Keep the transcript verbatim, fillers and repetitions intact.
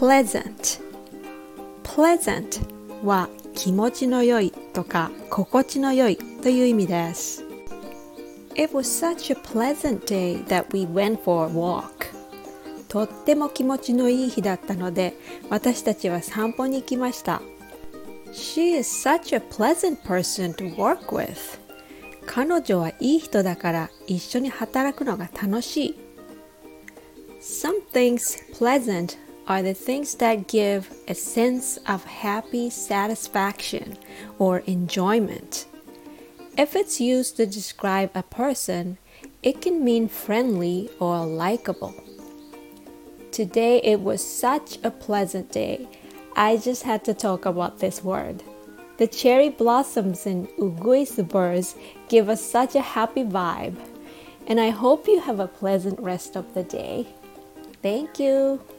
pleasant pleasant は気持ちの良いとか心地の良いという意味です。It was such a pleasant day that we went for a walk. とっても気持ちのいい日だったので私たちは散歩に行きました。She is such a pleasant person to work with. 彼女はいい人だから一緒に働くのが楽しい。Some things pleasant are the things that give a sense of happy satisfaction or enjoyment. If it's used to describe a person, it can mean friendly or likable. Today it was such a pleasant day. I just had to talk about this word. The cherry blossoms and uguisu birds give us such a happy vibe. And I hope you have a pleasant rest of the day. Thank you.